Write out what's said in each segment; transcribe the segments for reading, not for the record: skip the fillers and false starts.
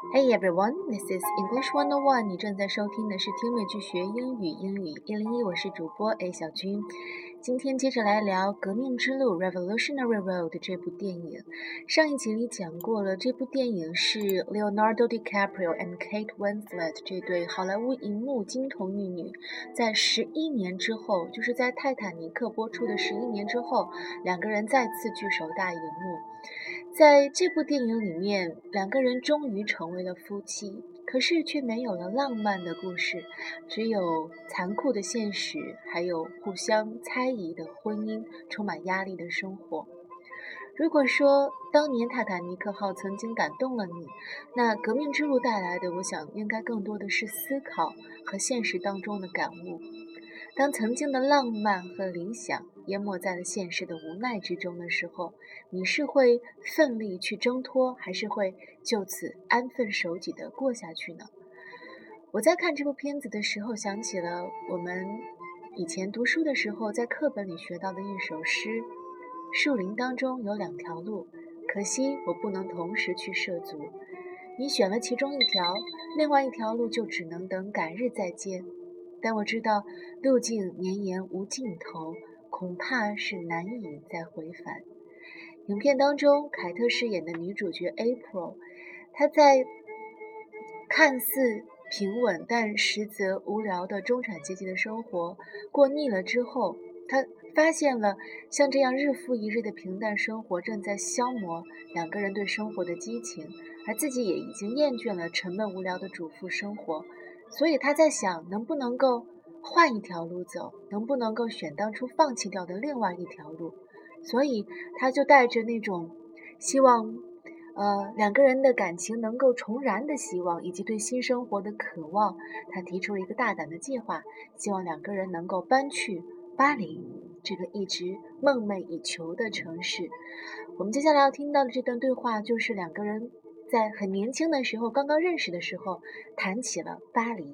Hey everyone, this is English 101. 你正在收听的是听美剧学英语，英语101，我是主播 A 小军。今天接着来聊《革命之路》Revolutionary Road 这部电影。上一集里讲过了，这部电影是 Leonardo DiCaprio and Kate Winslet 这对好莱坞银幕金童玉女在11年之后，就是在泰坦尼克播出的11年之后，两个人再次聚首大荧幕。在这部电影里面，两个人终于成为了夫妻，可是却没有了浪漫的故事，只有残酷的现实，还有互相猜疑的婚姻，充满压力的生活。如果说当年泰坦尼克号曾经感动了你，那革命之路带来的，我想应该更多的是思考和现实当中的感悟。当曾经的浪漫和理想淹没在了现实的无奈之中的时候，你是会奋力去挣脱，还是会就此安分守己地过下去呢？我在看这部片子的时候，想起了我们以前读书的时候在课本里学到的一首诗：树林当中有两条路，可惜我不能同时去涉足。你选了其中一条，另外一条路就只能等改日再见。但我知道路径绵延无尽头，恐怕是难以再回返。影片当中，凯特饰演的女主角 April， 她在看似平稳但实则无聊的中产阶级的生活过腻了之后，她发现了像这样日复一日的平淡生活正在消磨两个人对生活的激情，而自己也已经厌倦了沉闷无聊的主妇生活。所以他在想，能不能够换一条路走，能不能够选当初放弃掉的另外一条路。所以他就带着那种希望两个人的感情能够重燃的希望，以及对新生活的渴望，他提出了一个大胆的计划，希望两个人能够搬去巴黎，这个一直梦寐以求的城市。我们接下来要听到的这段对话，就是两个人在很年轻的时候，刚刚认识的时候，谈起了巴黎。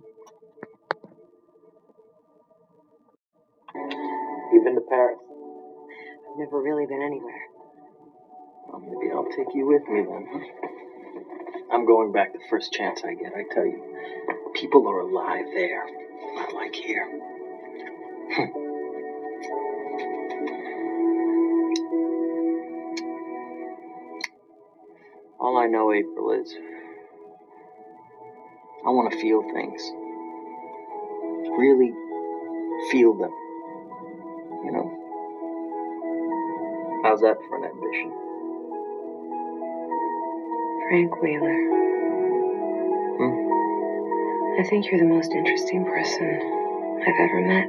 You've been to Paris? I've never really been anywhere. Well, maybe I'll take you with me then. I'm going back the first chance I get, I tell you. People are alive there, not like here. All I know, April, is I want to feel things. Really feel them. You know? How's that for an ambition? Frank Wheeler. I think you're the most interesting person I've ever met.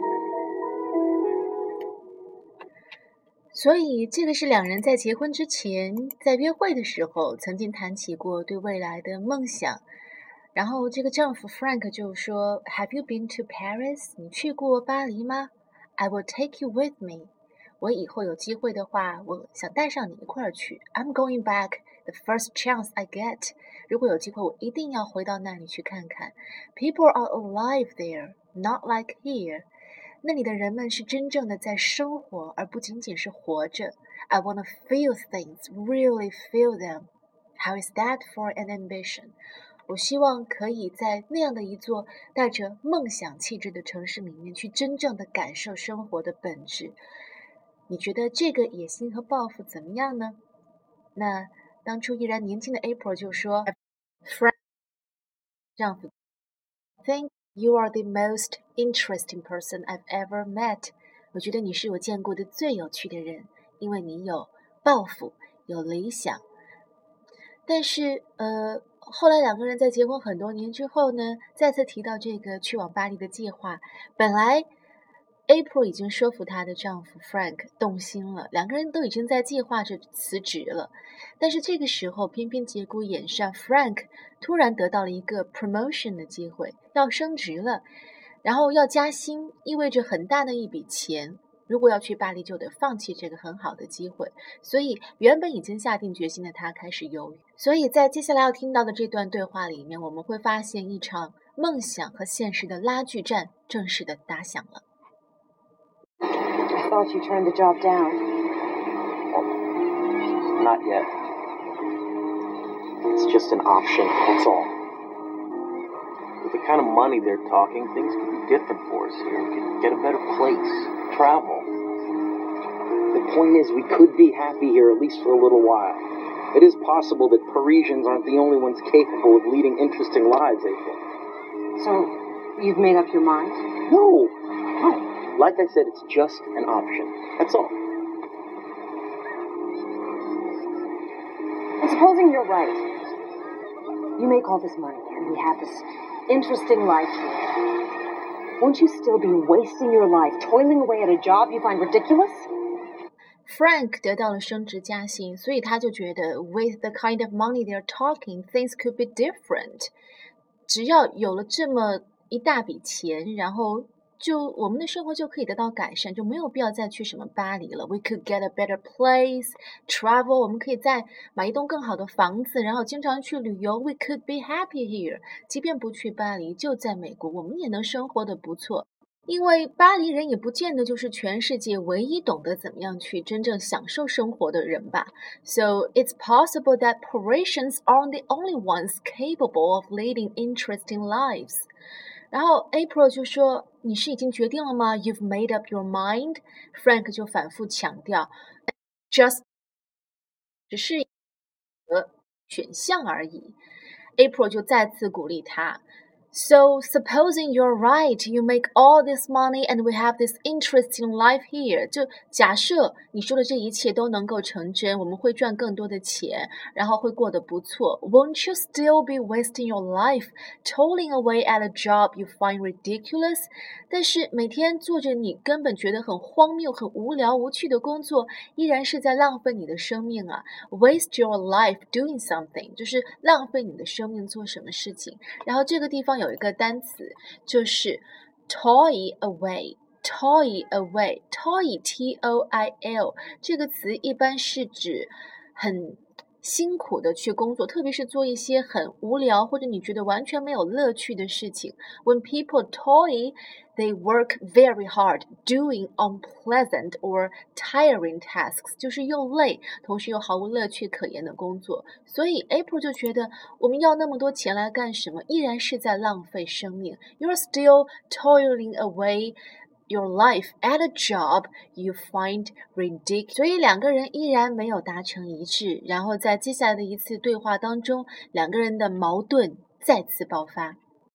所以这个是两人在结婚之前，在约会的时候曾经谈起过对未来的梦想。然后这个丈夫 Frank 就说 Have you been to Paris? 你去过巴黎吗？ I will take you with me. 我以后有机会的话，我想带上你一块儿去。 I'm going back the first chance I get. 如果有机会，我一定要回到那里去看看。 People are alive there, not like here. 那里的人们是真正的在生活，而不仅仅是活着。 I want to feel things, really feel them. How is that for an ambition? 我希望可以在那样的一座带着梦想气质的城市里面，去真正的感受生活的本质。你觉得这个野心和抱负怎么样呢？那当初依然年轻的 April 就说 Frank 丈夫 Think you are the most interesting person I've ever met. 我觉得你是我见过的最有趣的人，因为你有抱负，有理想。但是后来两个人在结婚很多年之后呢，再次提到这个去往巴黎的计划。本来 April 已经说服她的丈夫 Frank 动心了，两个人都已经在计划着辞职了。但是这个时候偏偏节骨眼上， Frank 突然得到了一个 promotion 的机会，要升职了，然后要加薪，意味着很大的一笔钱。如果要去巴黎，就得放弃这个很好的机会，所以原本已经下定决心的他开始犹豫。所以在接下来要听到的这段对话里面，我们会发现一场梦想和现实的拉锯战正式的打响了。 I thought you turned the job down. Not yet. It's just an option, that's all. With the kind of money they're talking, things could be different for us here. We could get a better place, travel. The point is, we could be happy here, at least for a little while. It is possible that Parisians aren't the only ones capable of leading interesting lives, April. So, you've made up your mind? No. Like I said, it's just an option. That's all. And supposing you're right. You make all this money, and we have this interesting life here. Won't you still be wasting your life toiling away at a job you find ridiculous? Frank 得到了升职加薪，所以他就觉得 with the kind of money they're talking, things could be different. 只要有了这么一大笔钱，然后就我们的生活就可以得到改善，就没有必要再去什么巴黎了。We could get a better place, travel. 我们可以再买一栋更好的房子，然后经常去旅游。We could be happy here. 即便不去巴黎，就在美国，我们也能生活得不错。因为巴黎人也不见得就是全世界唯一懂得怎么样去真正享受生活的人吧。So it's possible that Parisians aren't the only ones capable of leading interesting lives. 然后 April 就说：“你是已经决定了吗 ？You've made up your mind." Frank 就反复强调 ，just 只是一个选项而已。April 就再次鼓励他。So, supposing you're right, you make all this money and we have this interesting life here. 就假设你说的这一切都能够成真，我们会赚更多的钱，然后会过得不错。Won't you still be wasting your life, toiling away at a job you find ridiculous? 但是每天做着你根本觉得很荒谬、很无聊、无趣的工作，依然是在浪费你的生命啊。Waste your life doing something 就是浪费你的生命做什么事情。然后这个地方有一个单词就是 toil away, toil away, toil T-O-I-L 这个词一般是指很辛苦的去工作，特别是做一些很无聊或者你觉得完全没有乐趣的事情。When people toil, they work very hard doing unpleasant or tiring tasks， 就是又累，同时又毫无乐趣可言的工作。所以 April 就觉得我们要那么多钱来干什么？依然是在浪费生命。You're still toiling away your life at a job you find ridiculous. 所以两个人依然没有达成一致，然后在接下来的一次对话当中，两个人的矛盾再次爆发。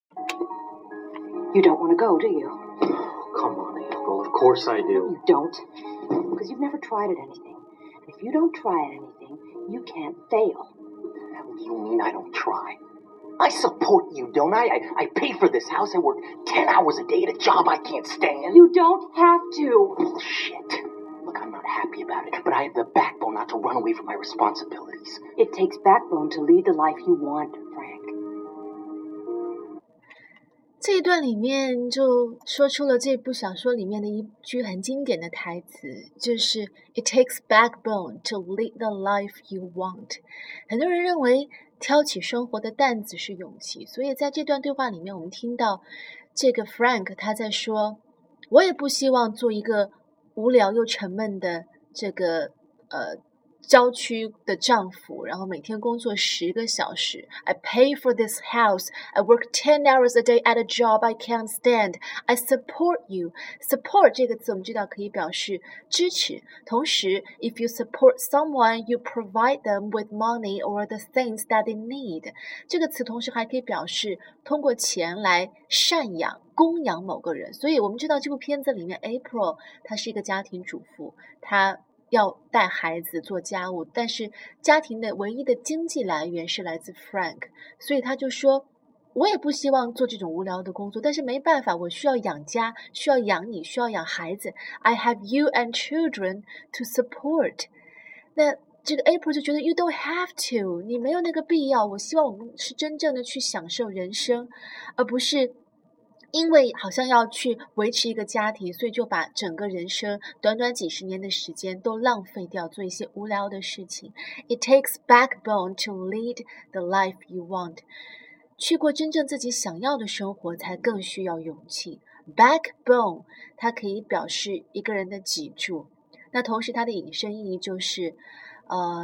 You don't want to go, do you? Come on, April. Of course I do. You don't. Because you've never tried at anything. And if you don't try at anything, you can't fail. What the hell do you mean I don't try? I support you, don't I? I pay for this house. I work 10 hours a day at a job I can't stand. You don't have to. Bullshit. Look, I'm not happy about it, but I have the backbone not to run away from my responsibilities. It takes backbone to lead the life you want, Frank. 这一段里面就说出了这部小说里面的一句很经典的台词，就是 It takes backbone to lead the life you want. 很多人认为挑起生活的担子是勇气，所以在这段对话里面我们听到这个 Frank 他在说，我也不希望做一个无聊又沉闷的这个郊区的丈夫，然后每天工作10个小时。I pay for this house. I work 10 hours a day at a job I can't stand. I support you. Support 这个词我们知道可以表示支持，同时 if you support someone, you provide them with money or the things that they need. 这个词同时还可以表示通过钱来赡养供养某个人。所以我们知道这部片子里面 April 她是一个家庭主妇，她要带孩子做家务，但是家庭的唯一的经济来源是来自 Frank， 所以他就说我也不希望做这种无聊的工作，但是没办法，我需要养家，需要养你，需要养孩子。 I have you and children to support. 那这个 April 就觉得 You don't have to， 你没有那个必要，我希望我们是真正的去享受人生，而不是因为好像要去维持一个家庭，所以就把整个人生短短几十年的时间都浪费掉，做一些无聊的事情。It takes backbone to lead the life you want. 去过真正自己想要的生活，才更需要勇气。Backbone 它可以表示一个人的脊柱，那同时它的引申意义就是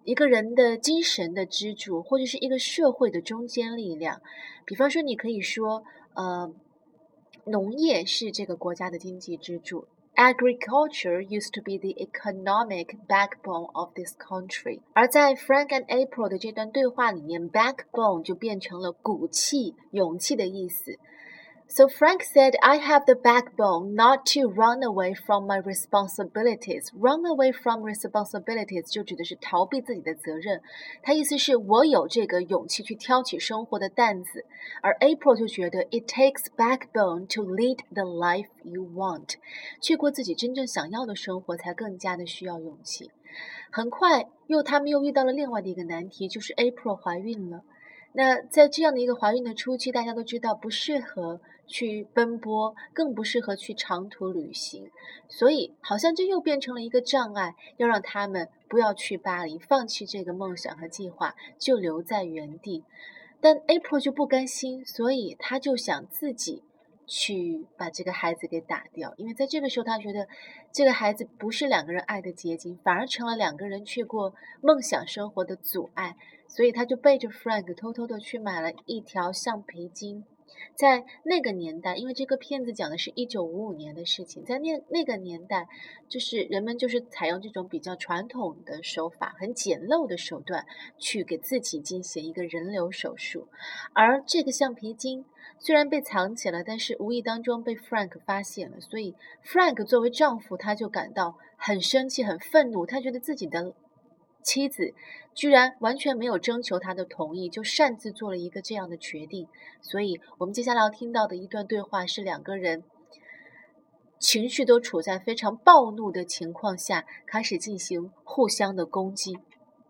一个人的精神的支柱，或者是一个社会的中坚力量。比方说，你可以说，农业是这个国家的经济支柱。Agriculture used to be the economic backbone of this country. 而在 Frank and April 的这段对话里面 backbone 就变成了骨气、勇气的意思。So Frank said, I have the backbone not to run away from my responsibilities. Run away from responsibilities 就指的是逃避自己的责任。他意思是我有这个勇气去挑起生活的担子。而 April 就觉得 It takes backbone to lead the life you want. 去过自己真正想要的生活才更加的需要勇气。很快他们又遇到了另外的一个难题，就是 April 怀孕了。那在这样的一个怀孕的初期，大家都知道不适合去奔波，更不适合去长途旅行，所以好像这又变成了一个障碍，要让他们不要去巴黎，放弃这个梦想和计划，就留在原地。但 April 就不甘心，所以他就想自己去把这个孩子给打掉，因为在这个时候他觉得这个孩子不是两个人爱的结晶，反而成了两个人去过梦想生活的阻碍，所以他就背着 Frank 偷偷的去买了一条橡皮筋。在那个年代，因为这个片子讲的是1955年的事情，在那个年代，就是人们就是采用这种比较传统的手法，很简陋的手段去给自己进行一个人流手术。而这个橡皮筋虽然被藏起来，但是无意当中被 Frank 发现了，所以 Frank 作为丈夫，他就感到很生气、很愤怒，他觉得自己的妻子居然完全没有征求他的同意，就擅自做了一个这样的决定。所以我们接下来要听到的一段对话是两个人情绪都处在非常暴怒的情况下，开始进行互相的攻击。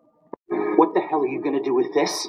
What the hell are you gonna do with this?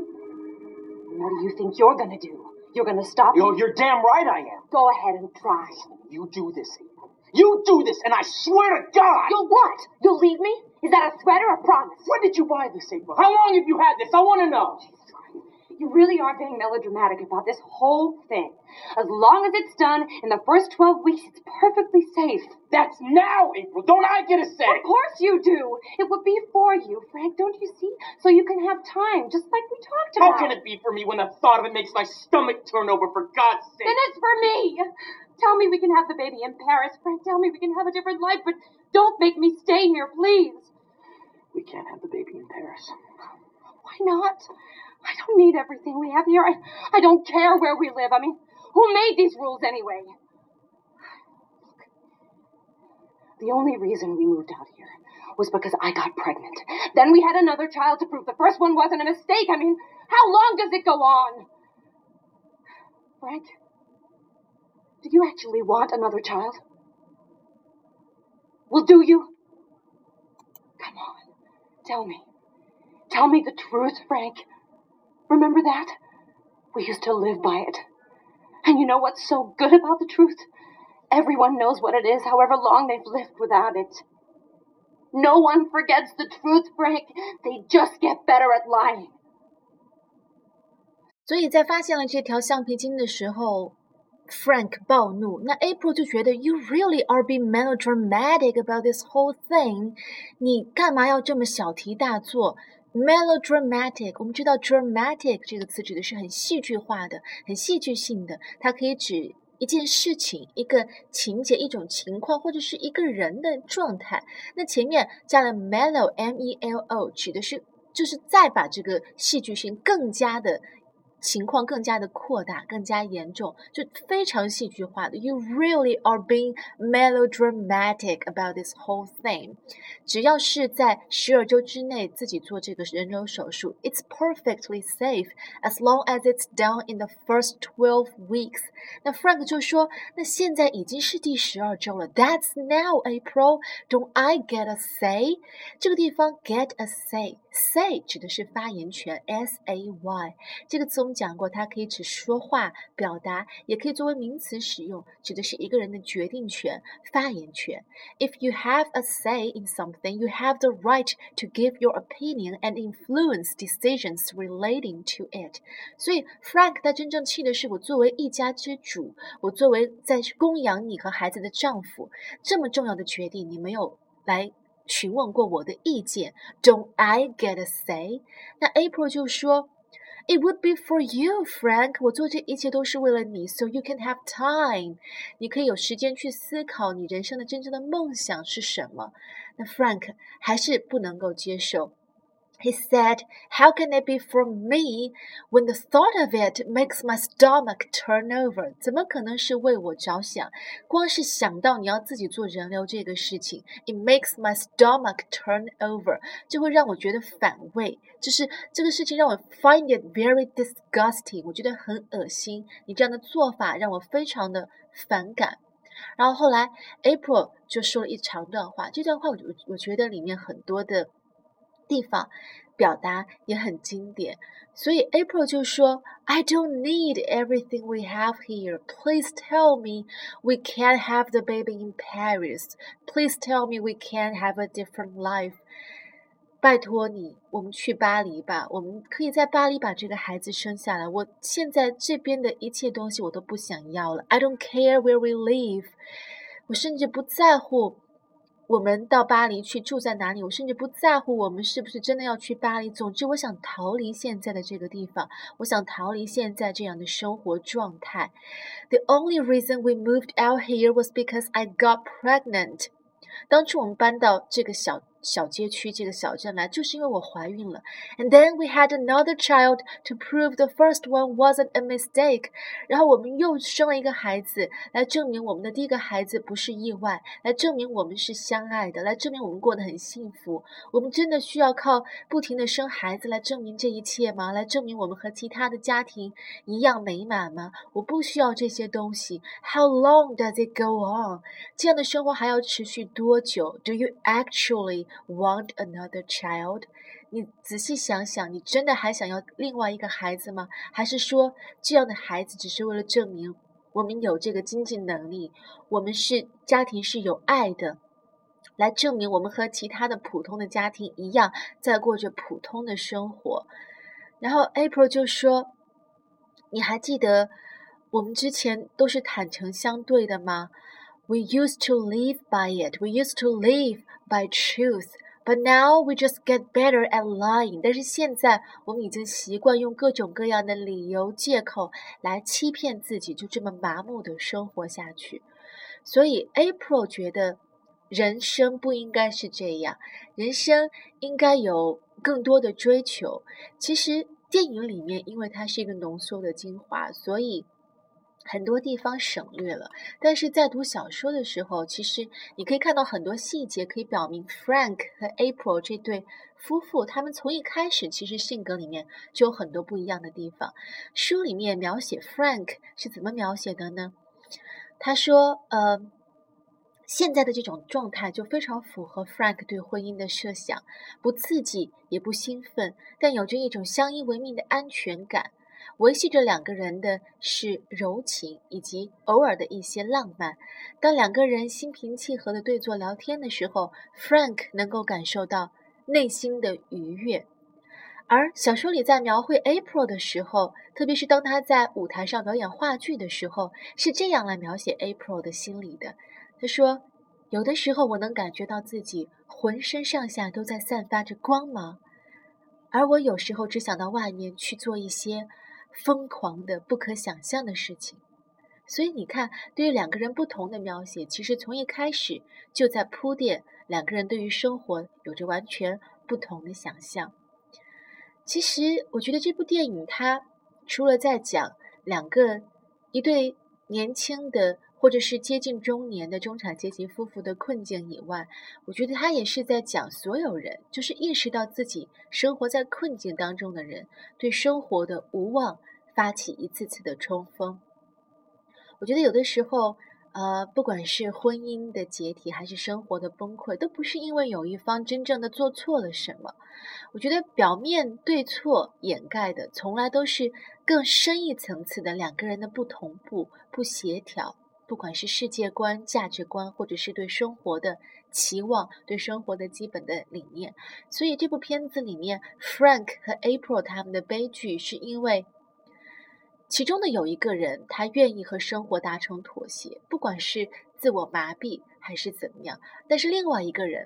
What do you think you're gonna do? You're gonna stop me? You're damn right I am. Go ahead and try. You do this, April. You do this, and I swear to God! You'll what? You'll leave me? Is that a threat or a promise? When did you buy this, April? How long have you had this? I want to know. You really are being melodramatic about this whole thing. As long as it's done in the first 12 weeks, it's perfectly safe. That's now, April. Don't I get a say? Of course you do. It would be for you, Frank, don't you see? So you can have time, just like we talked about. How can it be for me when the thought of it makes my stomach turn over, for God's sake? Then it's for me. Tell me we can have the baby in Paris, Frank. Tell me we can have a different life, but don't make me stay here, please. We can't have the baby in Paris. Why not? I don't need everything we have here. I don't care where we live. I mean, who made these rules anyway? Look, the only reason we moved out here was because I got pregnant. Then we had another child to prove the first one wasn't a mistake. I mean, how long does it go on? Frank, do you actually want another child? Well, do you? Come on, tell me. Tell me the truth, Frank. Remember that? We used to live by it. And you know what's so good about the truth? Everyone knows what it is, however long they've lived without it. No one forgets the truth, Frank. They just get better at lying. 所以在发现了这条橡皮筋的时候， Frank 暴怒，那 April 就觉得 You really are being melodramatic about this whole thing. 你干嘛要这么小题大做？Melodramatic， 我们知道 dramatic 这个词指的是很戏剧化的、很戏剧性的，它可以指一件事情、一个情节、一种情况，或者是一个人的状态。那前面加了 melo M-E-L-O， 指的是就是再把这个戏剧性更加的情况更加的扩大，更加严重，就非常戏剧化的。You really are being melodramatic about this whole thing. 只要是在12周之内自己做这个人流手术 ，It's perfectly safe as long as it's done in the first 12 weeks. 那 Frank 就说，那现在已经是第12周了 ，That's now, April. Don't I get a say? 这个地方 get a say 指的是发言权 ，S-A-Y 这个词我们讲过，它可以指说话、表达，也可以作为名词使用，指的是一个人的决定权、发言权。If you have a say in something, you have the right to give your opinion and influence decisions relating to it. 所以 Frank 他真正气的是，我作为一家之主，我作为在供养你和孩子的丈夫，这么重要的决定你没有来询问过我的意见 Don't I get a say？ 那 April 就说It would be for you, Frank. 我做这一切都是为了你 So you can have time. 你可以有时间去思考你人生的真正的梦想是什么。那 Frank 还是不能够接受。He said, How can it be for me when the thought of it makes my stomach turn over? 怎么可能是为我着想？光是想到你要自己做人流这个事情 It makes my stomach turn over 就会让我觉得反胃，就是这个事情让我 find it very disgusting 我觉得很恶心，你这样的做法让我非常的反感。然后后来 April 就说了一长段话，这段话我觉得里面很多的地方表达也很经典，所以 April 就说 I don't need everything we have here. Please tell me we can't have the baby in Paris. Please tell me we can't have a different life. 拜托你，我们去巴黎吧，我们可以在巴黎把这个孩子生下来。我现在这边的一切东西我都不想要了。I don't care where we live. 我甚至不在乎我们到巴黎去住在哪里，我甚至不在乎我们是不是真的要去巴黎。总之我想逃离现在的这个地方，我想逃离现在这样的生活状态。The only reason we moved out here was because I got pregnant. 当初我们搬到这个小街区这个小镇来，就是因为我怀孕了。And then we had another child to prove the first one wasn't a mistake. 然后我们又生了一个孩子，来证明我们的第一个孩子不是意外，来证明我们是相爱的，来证明我们过得很幸福。我们真的需要靠不停的生孩子来证明这一切吗？来证明我们和其他的家庭一样美满吗？我不需要这些东西。How long does it go on? 这样的生活还要持续多久 ？Do you actually want another child? 你仔细想想，你真的还想要另外一个孩子吗？还是说这样的孩子只是为了证明我们有这个经济能力，我们是家庭是有爱的，来证明我们和其他的普通的家庭一样，在过着普通的生活。然后 April 就说，你还记得我们之前都是坦诚相对的吗？ We used to live by it. We used to live by truth. But now we just get better at lying. 但是现在我们已经习惯用各种各样的理由借口来欺骗自己，就这么麻木的生活下去。所以 April 觉得人生不应该是这样，人生应该有更多的追求。其实电影里面因为它是一个浓缩的精华，所以很多地方省略了，但是在读小说的时候，其实你可以看到很多细节，可以表明 Frank 和 April 这对夫妇，他们从一开始其实性格里面就有很多不一样的地方。书里面描写 Frank 是怎么描写的呢？他说，现在的这种状态就非常符合 Frank 对婚姻的设想，不刺激也不兴奋，但有着一种相依为命的安全感。维系着两个人的是柔情以及偶尔的一些浪漫。当两个人心平气和地对坐聊天的时候， Frank 能够感受到内心的愉悦。而小说里在描绘 April 的时候，特别是当他在舞台上表演话剧的时候，是这样来描写 April 的心理的。他说，有的时候我能感觉到自己浑身上下都在散发着光芒，而我有时候只想到外面去做一些疯狂的不可想象的事情。所以你看，对于两个人不同的描写，其实从一开始就在铺垫两个人对于生活有着完全不同的想象。其实我觉得这部电影它除了在讲一对年轻的或者是接近中年的中产阶级夫妇的困境以外，我觉得它也是在讲所有人，就是意识到自己生活在困境当中的人，对生活的无望发起一次次的冲锋。我觉得有的时候不管是婚姻的解体还是生活的崩溃，都不是因为有一方真正的做错了什么。我觉得表面对错掩盖的从来都是更深一层次的两个人的不同步、不协调，不管是世界观、价值观，或者是对生活的期望、对生活的基本的理念。所以这部片子里面 Frank 和 April 他们的悲剧是因为其中的有一个人他愿意和生活达成妥协，不管是自我麻痹还是怎么样，但是另外一个人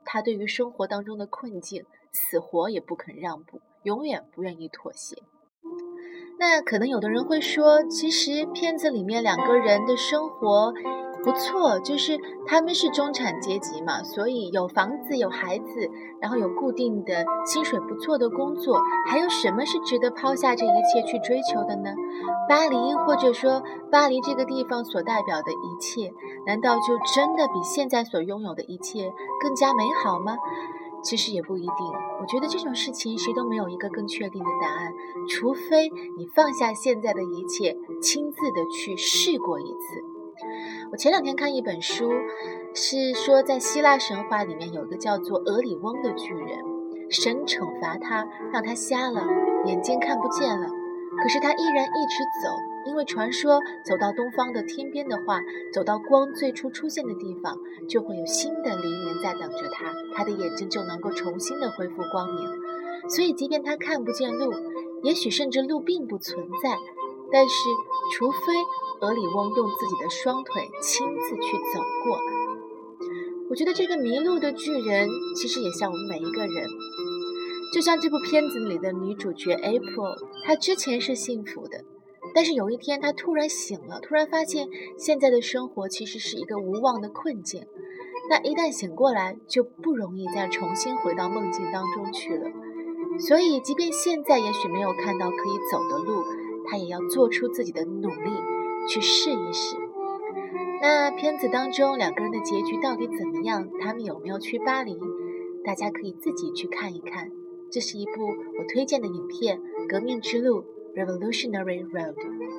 他对于生活当中的困境死活也不肯让步，永远不愿意妥协。那可能有的人会说，其实片子里面两个人的生活不错，就是他们是中产阶级嘛，所以有房子有孩子，然后有固定的薪水不错的工作，还有什么是值得抛下这一切去追求的呢？巴黎，或者说巴黎这个地方所代表的一切，难道就真的比现在所拥有的一切更加美好吗？其实也不一定，我觉得这种事情谁都没有一个更确定的答案，除非你放下现在的一切，亲自的去试过一次。我前两天看一本书，是说在希腊神话里面有一个叫做俄里翁的巨人，神惩罚他，让他瞎了，眼睛看不见了，可是他依然一直走，因为传说走到东方的天边的话，走到光最初出现的地方，就会有新的黎明在等着他，他的眼睛就能够重新的恢复光明。所以即便他看不见路，也许甚至路并不存在，但是除非俄里翁用自己的双腿亲自去走过。我觉得这个迷路的巨人其实也像我们每一个人，就像这部片子里的女主角 April， 她之前是幸福的，但是有一天她突然醒了，突然发现现在的生活其实是一个无望的困境。那一旦醒过来，就不容易再重新回到梦境当中去了。所以即便现在也许没有看到可以走的路，她也要做出自己的努力去试一试。那片子当中两个人的结局到底怎么样？他们有没有去巴黎？大家可以自己去看一看。这是一部我推荐的影片《革命之路》 Revolutionary Road。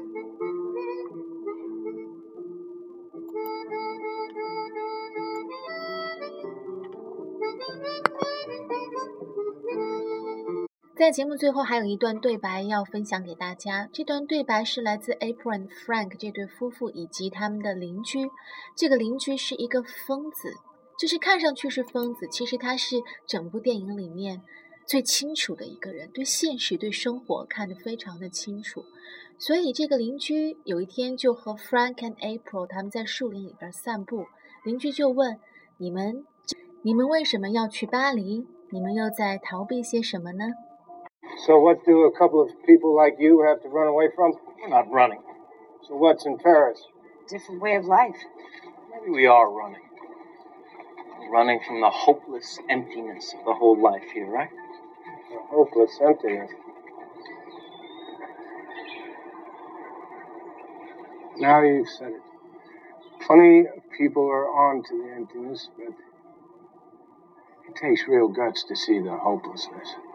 在节目最后还有一段对白要分享给大家，这段对白是来自 April and Frank 这对夫妇以及他们的邻居。这个邻居是一个疯子，就是看上去是疯子，其实他是整部电影里面最清楚的一个人，对现实对生活看得非常的清楚。所以这个邻居有一天就和 Frank and April 他们在树林里边散步，邻居就问，你们为什么要去巴黎？你们又在逃避些什么呢？ So what do a couple of people like you have to run away from? We're not running. So what's in Paris? Different way of life. Maybe we are running. Running from the hopeless emptiness of the whole life here, right? A hopeless emptiness. Now you've said it. Plenty of people are on to the emptiness, but it takes real guts to see the hopelessness.